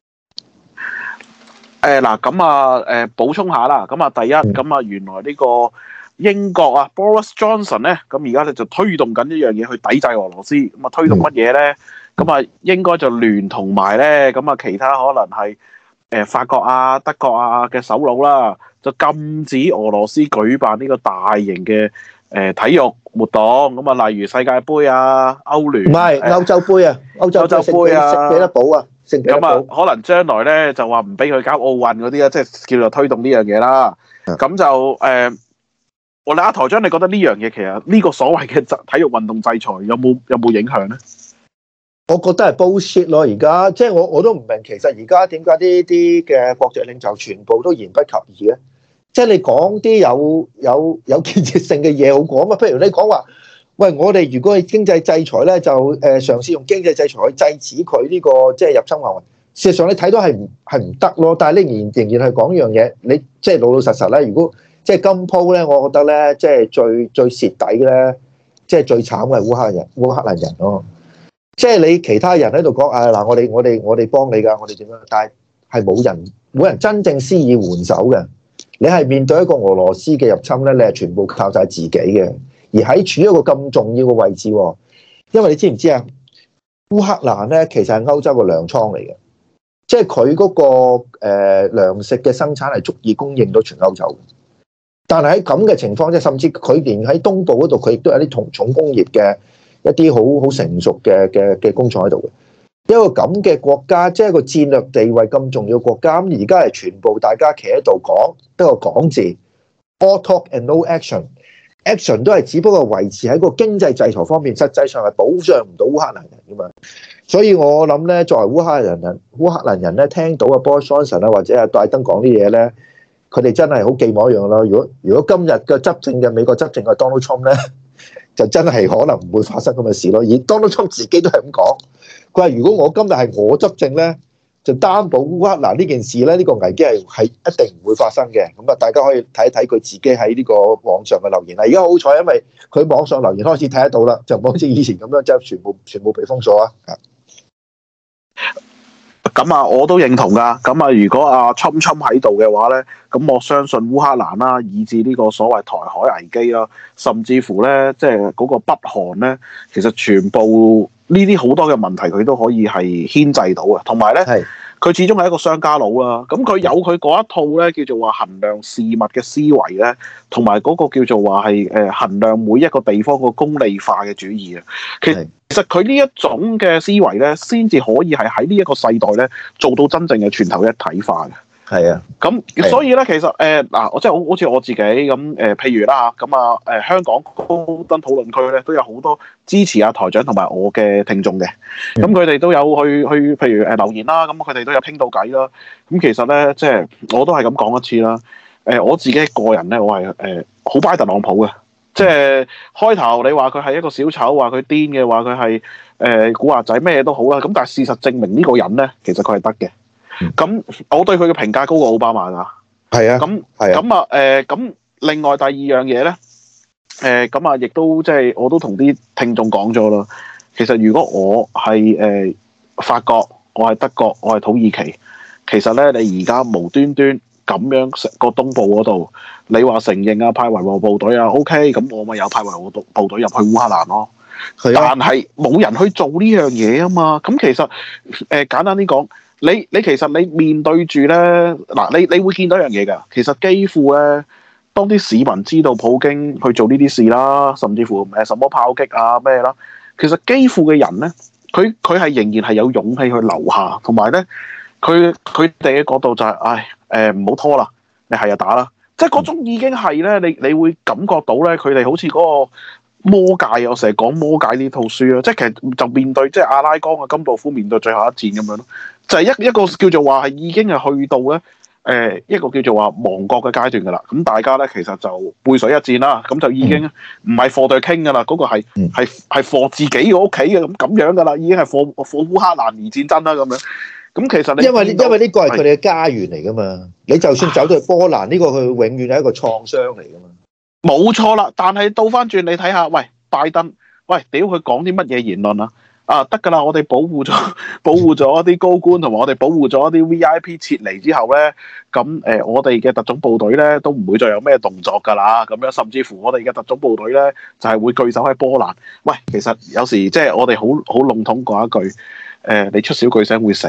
嗱，咁補充下啦。咁第一，咁原來呢個英國啊 Boris Johnson 咧，咁而家咧就推動緊一樣嘢去抵制俄羅斯。咁推動乜嘢咧？咁應該就聯同埋咧，咁其他可能係法國啊、德國啊嘅首腦啦，就禁止俄羅斯舉辦呢個大型嘅體育活動。咁例如世界盃啊、歐聯，唔係歐洲杯啊，歐洲杯啊，聖彼得堡啊。 咁可能將來咧就話唔俾佢搞奧運嗰啲啊，即係叫做推動呢樣嘢啦。咁就我哋阿台長，你覺得呢樣嘢其實呢個所謂嘅體育運動制裁有冇影響咧？ 我覺得係 bullshit 咯。而家即係我都唔明，其實而家點解呢啲嘅國際領袖全部都言不及義咧？即係你講啲有建設性嘅嘢好講嘛？譬如你講話。喂，我哋如果係經濟制裁咧，就嘗試用經濟制裁去制止佢呢個即係入侵華為。事實上你睇到係唔得咯，但係你仍然係講一樣嘢，你即係老老實實咧。如果即係今鋪咧，我覺得咧，即係最蝕底咧，即係最慘嘅係烏克蘭人咯。即係你其他人喺度講嗱，我哋幫你㗎，我哋點樣？但係冇人真正施以援手嘅。你係面對一個俄羅斯嘅入侵咧，你係全部靠晒自己嘅。而喺處於一個咁重要嘅位置，因為你知唔知啊？烏克蘭咧其實係歐洲嘅糧倉嚟嘅，即係佢嗰個糧食嘅生產係足以供應到全歐洲。但係喺咁嘅情況，即係甚至佢連喺東部嗰度，佢亦都有啲重工業嘅一啲好成熟嘅工廠喺度嘅。一個咁嘅國家，即係一個戰略地位咁重要嘅國家，咁而家係全部大家企喺度講得個講字 ，all talk and no action。action 都係只不過維持喺個經濟制裁方面，實際上係保障唔到烏克蘭人噶嘛。所以我諗咧，作為烏克蘭人咧，聽到阿 Boris Johnson 啊或者阿拜登講啲嘢咧，佢哋真係好寄望一樣咯。如果今日嘅執政嘅美國執政嘅 Donald Trump 咧，就真係可能唔會發生咁嘅事咯。而 Donald Trump 自己都係咁講，佢話如果我今日係我執政咧，就擔保烏克蘭呢件事咧，呢個危機係一定唔會發生嘅。咁啊，大家可以睇一睇佢自己喺呢個網上嘅留言啦。而家好彩，因為佢網上留言開始睇得到啦，就唔好似以前咁樣即係全部被封鎖啊。 咁啊，我都認同噶。咁啊，如果阿侵喺度嘅話咧，咁我相信烏克蘭啦，以至呢個所謂台海危機啦，甚至乎咧，即係嗰個北韓咧，其實全部呢啲好多嘅問題，佢都可以係牽制到嘅。同埋咧，佢始終係一個商家佬啦。咁佢有佢嗰一套咧，叫做話衡量事物嘅思維咧，同埋嗰個叫做話係衡量每一個地方個功利化嘅主義啊。其實佢呢一種嘅思維咧，先至可以係喺呢一個世代咧做到真正嘅全球一體化嘅。 係啊， 咁所以咧，其實嗱，我即係好似我自己咁譬如啦咁香港高登討論區咧都有好多支持阿台長同埋我嘅聽眾嘅，咁佢哋都有去譬如留言啦，咁佢哋都有傾到偈啦。咁其實咧，即係我都係咁講一次啦。我自己個人咧，我係好拜特朗普嘅。即係開頭你話佢係一個小丑，話佢癲嘅，話佢係古惑仔，咩都好啦。咁但係事實證明呢個人咧，其實佢係得嘅。咁我對佢嘅評價高過奧巴馬㗎。係啊。咁另外第二樣嘢咧，亦都即係我都同啲聽眾講咗啦。其實如果我係法國，我係德國，我係土耳其，其實咧你而家無端端咁樣個東部嗰度，你話承認啊派維和部隊啊 OK， 咁我咪有派維和部隊入去烏克蘭咯。但係冇人去做呢樣嘢啊嘛。咁其實簡單啲講。你其實你面對住咧嗱，你會見到一樣嘢㗎。其實基輔咧，當啲市民知道普京去做呢啲事啦，甚至乎什麼炮擊啊咩啦，其實基輔嘅人咧，佢係仍然係有勇氣去留下，同埋咧，佢哋嘅角度就係、唔好拖啦，你係就打啦，即係嗰種已經係咧，你會感覺到咧，佢哋好似嗰個魔戒，我成日講魔戒呢套書啊，即係其實就面對即係阿拉岡啊、甘道夫面對最後一戰咁樣咯。就係一個叫做話係已經係去到咧一個叫做話亡國嘅階段㗎啦。咁大家咧其實就背水一戰啦。咁就已經唔係貨對傾㗎啦。嗰、那個係貨自己嘅屋企嘅咁樣㗎啦。已經係貨烏克蘭而戰爭啦咁樣。咁其實你因為呢個係佢哋嘅家園嚟㗎嘛。你就算走到去波蘭，呢個佢永遠係一個創傷嚟㗎嘛。 冇錯啦。但係倒翻轉你睇下，喂拜登，喂屌佢講啲乜嘢言論啊？得㗎啦！我哋保護咗一啲高官，同埋我哋保護咗一啲 VIP 撤離之後咧，咁我哋嘅特種部隊咧都唔會再有咩動作㗎啦。咁樣甚至乎我哋嘅特種部隊咧就係會據守喺波蘭。喂，其實有時即係我哋好籠統講一句，你出小巨聲會死。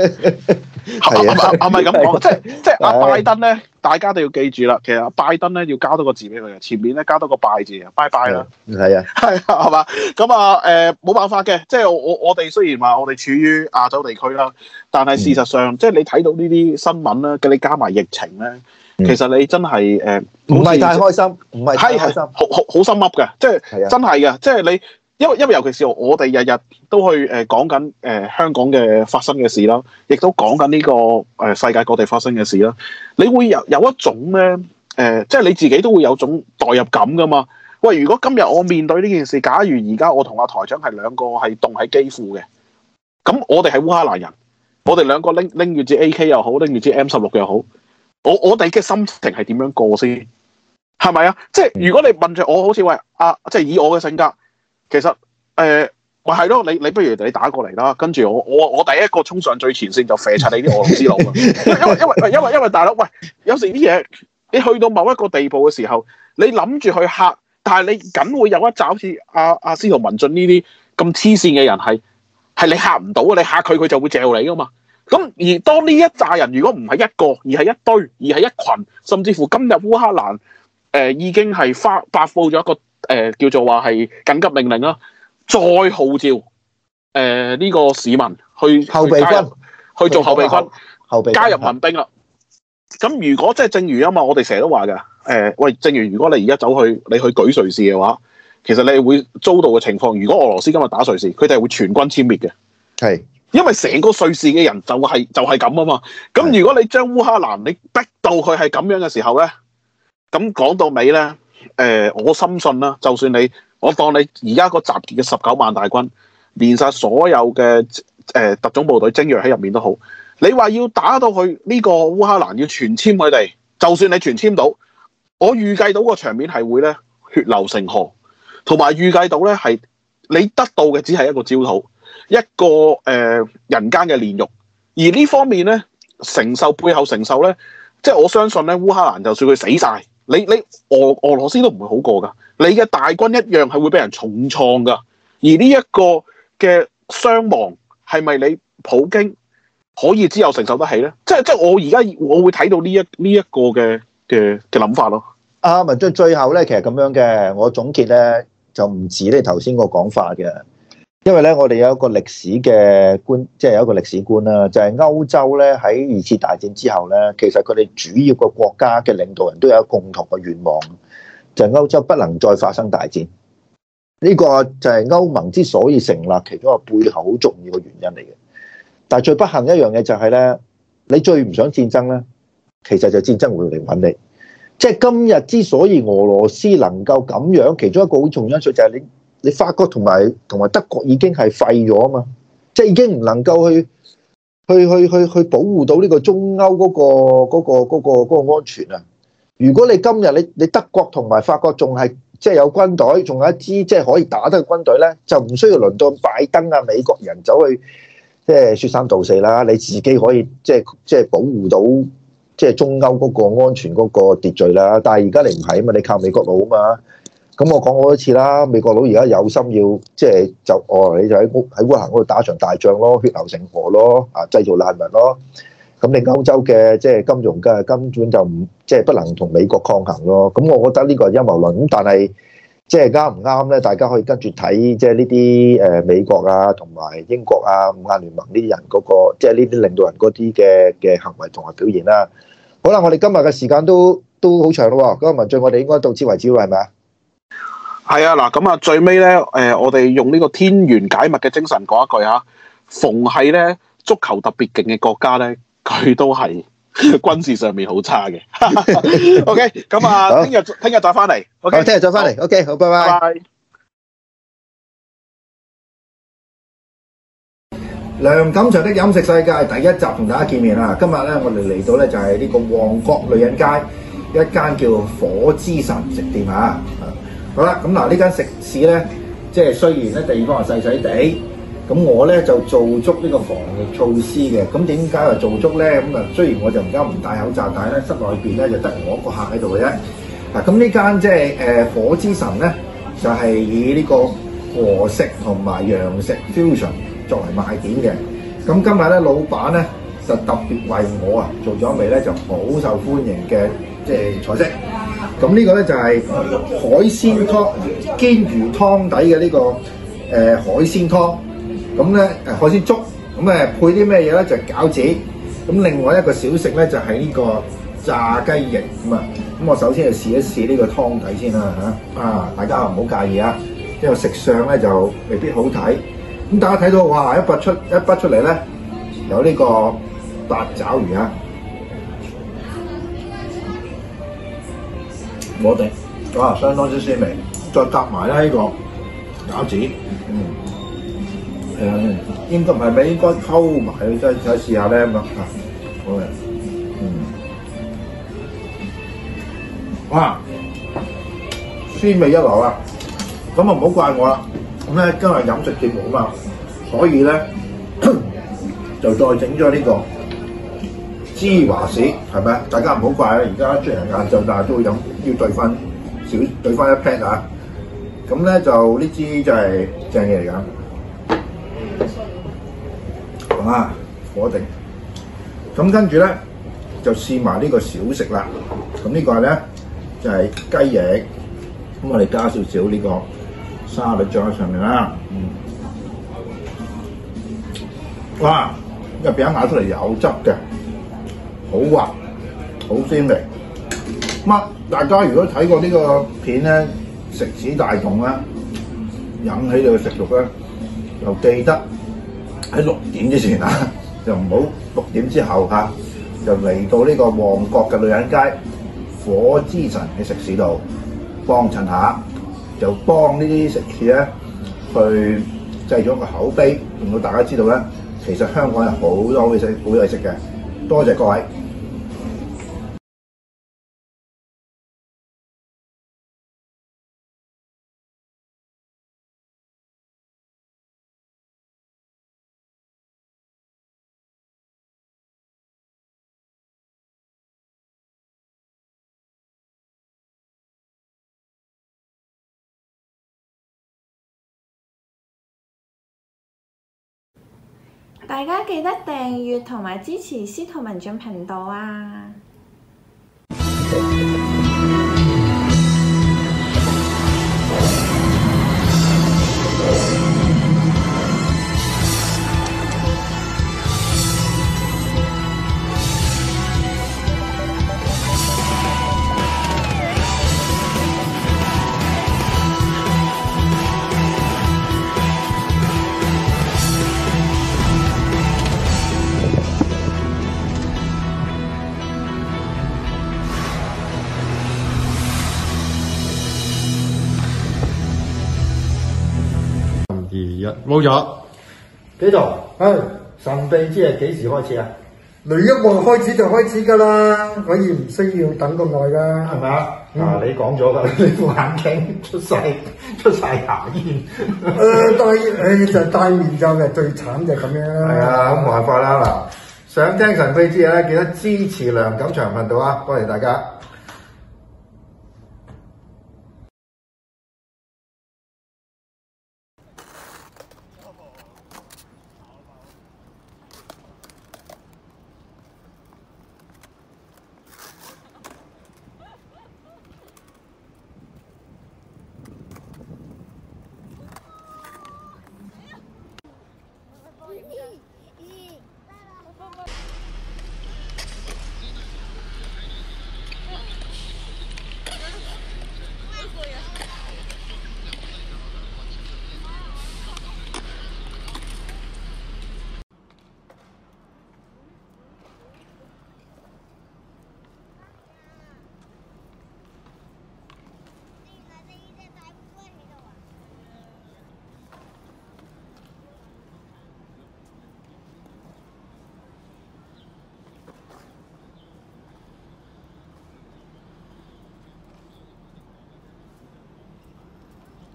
係咪咁講？即係阿拜登咧，大家都要記住啦。其實阿拜登咧要加多個字俾佢嘅，前面咧加多個拜字啊，拜拜啦。 係啊， 係嘛？咁冇辦法嘅。即係我哋雖然話我哋處於亞洲地區啦，但係事實上，即係你睇到呢啲新聞啦，嘅你加埋疫情咧，其實你真係唔係太開心，唔係太開心， 好心噏嘅，即係真係嘅，即係你。因為尤其是我哋日日都去講緊香港嘅發生嘅事啦，亦都講緊呢個世界各地發生嘅事啦。你會有一種咧即係你自己都會有種代入感噶嘛。喂，如果今日我面對呢件事，假如而家我同阿台長係兩個係凍喺基輔嘅，咁我哋係烏克蘭人，我哋兩個拎住支 AK 又好，拎住支 M16又好，我哋嘅心情係點樣過先？係咪啊？即係如果你問住我，好似喂即係以我嘅性格。其實咪係咯，你不如你打過嚟啦，跟住我第一個衝上最前線就射柒你啲俄羅斯佬啊！因為大佬喂，有時啲嘢你去到某一個地步嘅時候，你諗住去嚇，但係你梗會有一紮好似阿司徒文進呢啲咁黐線嘅人係你嚇唔到啊！你嚇佢就會嚼你噶嘛。咁而當呢一紮人如果唔係一個，而係一堆，而係一群，甚至乎今日烏克蘭已經係發佈咗一個。叫做話係緊急命令啦，再號召呢個市民去後備軍去做後備軍， 後備加入民兵啦。咁如果即係正如啊嘛，我哋成日都話嘅，喂，正如如果你而家你去舉瑞士嘅話，其實你會遭到嘅情況，如果俄羅斯今日打瑞士，佢哋係會全軍殲滅嘅。係，因為成個瑞士嘅人就係咁啊嘛。咁如果你將烏克蘭你逼到佢係咁樣嘅時候咧，咁講到尾咧。我深信啦，就算我當你而家個集結嘅19萬大軍，連晒所有嘅特種部隊精鋭喺入面都好，你話要打到去呢個烏克蘭，要全殲佢哋，就算你全殲到，我預計到個場面係會咧血流成河，同埋預計到咧係你得到嘅只係一個焦土，一個人間嘅煉獄， 而呢方面咧，背後承受咧，即係我相信咧，烏克蘭就算佢死晒，你俄羅斯都唔會好過㗎。你嘅大軍一樣係會俾人重創㗎。而呢一個嘅傷亡係咪你普京可以之後承受得起咧？即係我而家我會睇到呢一個嘅諗法咯。 文進最後咧，其實咁樣嘅，我總結咧就唔止你頭先個講法嘅，因為咧我哋有一個歷史嘅觀，即係有一個歷史觀啦，就係歐洲咧喺二次大戰之後咧，其實佢哋主要個國家嘅領導人都有一個共同嘅願望，就係歐洲不能再發生大戰。呢個就係歐盟之所以成立其中一個背後好重要嘅原因嚟嘅。但係最不幸一樣嘢就係咧，你最唔想戰爭咧，其實就戰爭會嚟揾你。即係今日之所以俄羅斯能夠咁樣，其中一個好重要因素就係你法國同埋德國已經係廢咗啊嘛，即係已經唔能夠去保護到呢個中歐嗰個安全啊！如果你今日你德國同埋法國仲係即係有軍隊，仲有一支即係可以打得嘅軍隊咧，就唔需要輪到拜登啊美國人走去即係説三道四啦，你自己可以即係保護到即係中歐嗰個安全嗰個秩序啦。但係而家你唔係啊嘛，你靠美國佬啊嘛。咁我講過多次啦，美國佬而家有心要即係你就喺烏克蘭嗰度打場大仗咯，血流成河咯，製造難民咯。咁你歐洲嘅即係金融嘅根本就唔即係不能同美國抗衡咯。咁我覺得呢個係陰謀論。咁但係即係啱唔啱咧？大家可以跟住睇即係呢啲美國啊同埋英國啊五眼聯盟呢啲人嗰個即係呢啲領導人嗰啲嘅行為同埋表現啦。好啦，我哋今日嘅時間都好長咯。咁文進，我哋應該到此為止啦，係咪啊？ 係啊，嗱咁啊，最尾咧，我哋用呢個天玄解密嘅精神講一句嚇，逢係咧足球特別勁嘅國家咧，佢都係軍事上面好差嘅。OK，咁啊，聽日再翻嚟。OK， 聽日再翻嚟。OK，好，拜拜。 拜拜。 梁錦祥的飲食世界第一集同大家見面啦。今日咧，我哋嚟到咧就係呢個旺角女人街一間叫火之神食店啊。好啦，咁嗱呢間食肆咧，即係雖然咧地方係細細地，咁我咧就做足呢個防疫措施嘅。咁點解話做足咧？咁啊，雖然我就而家唔戴口罩，但係咧室內邊咧就得我一個客喺度嘅啫。嗱，咁呢間即係火之神咧，就係以呢個和食同埋洋食 fusion 作為賣點嘅。咁今日咧，老闆咧就特別為我做咗一味咧就好受歡迎嘅即係菜式。咁呢個咧就係海鮮湯，鰻魚湯底嘅呢個海鮮湯。咁咧海鮮粥，咁配啲咩嘢咧？就係餃子。咁另外一個小食咧就係呢個炸雞翼咁啊。咁我首先就試一試呢個湯底先啦嚇。大家唔好介意啊，因為食相咧就未必好睇。咁大家睇到哇，一筆出嚟咧，有呢個八爪魚啊！我哋相當之鮮味，再夾埋咧呢個餃子，應該唔係咩？應該溝埋，再試下咧咁啊！好嘅，哇，鮮味一流啊！咁啊唔好怪我啦，咁咧今日飲食節目啊嘛，所以咧就再整咗呢個芝華士，係咪啊？大家唔好怪啊！而家雖然晏晝，但係都會飲，要兌翻一 pat 啊！咁咧就呢支就係正嘢嚟㗎，火定。咁跟住咧就試埋呢個小食啦。咁呢個咧就係雞翼，咁我哋加少少呢個沙律醬喺上面啦。哇！入邊咬出嚟有汁嘅。好滑，好鮮味。大家如果睇過呢個片咧，食指大動啦，引起你嘅食慾咧，就記得喺6點之前就唔好6點之後就嚟到呢個旺角嘅女人街火之神嘅食肆度幫襯下，就幫呢啲食肆咧去製咗個口碑，令到大家知道咧，其實香港有好多好嘢食嘅。多謝各位。 大家記得訂閱同埋支持司徒文進頻道啊！ 冇咗。 幾度？ 係神秘之夜幾時開始啊？ 雷一望開始就開始㗎啦，可以唔需要等咁耐㗎， 係咪啊？嗱，你講咗㗎，你副眼鏡出晒牙煙。 戴面罩嘅最慘就係咁樣啦。 係啊，咁冇辦法啦嗱。想聽神秘之夜咧，記得支持梁錦祥頻道啊！多謝大家。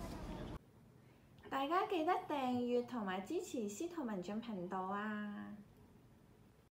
大家記得訂閱同埋支持司徒文進頻道啊！